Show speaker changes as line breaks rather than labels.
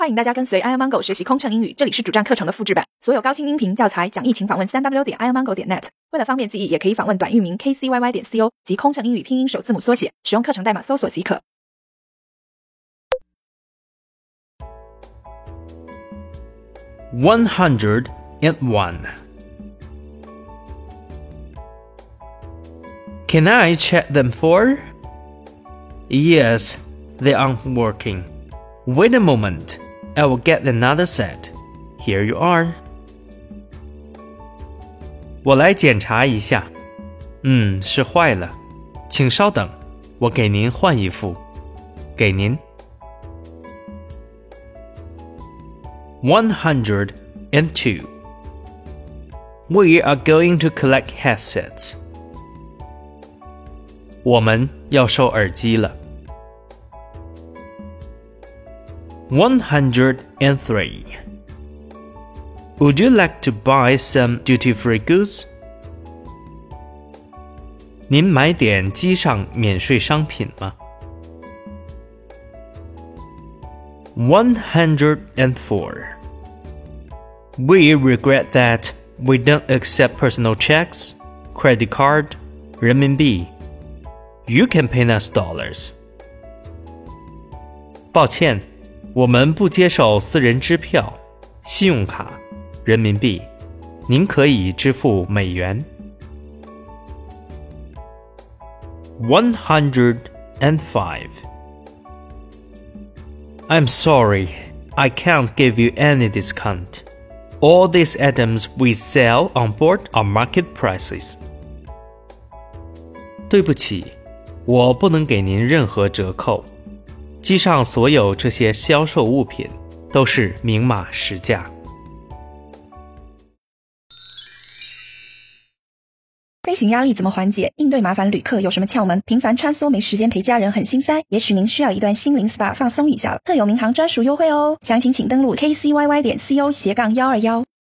欢迎大家跟随 iomongo 学习空乘英语，这里是主站课程的复制版，所有高清音频教材讲义请访问 3w.iomongo.net。为了方便记忆，也可以访问短域名 kcyy.co 及空乘英语拼音首字母缩写，使用课程代码搜索即可。
101. Can I check them for? Yes, they aren't working. Wait a moment, I will get another set. Here you are. 我来检查一下。是坏了，请稍等，我给您换一副。给您。102. We are going to collect headsets. 我们要收耳机了。103. Would you like to buy some duty-free goods? 您买点机上免税商品吗？ 104. We regret that we don't accept personal checks, credit card, 人民币。You can pay us dollars. 抱歉，我们不接受私人支票、信用卡、人民币，您可以支付美元。105. I'm sorry, I can't give you any discount. All these items we sell on board are market prices. 对不起，我不能给您任何折扣。机上所有这些销售物品都是明码实价。
飞行压力怎么缓解？应对麻烦旅客有什么窍门？频繁穿梭没时间陪家人很心塞，也许您需要一段心灵 SPA 放松一下了。特有民航专属优惠哦，详情请登录 kcyy.co/121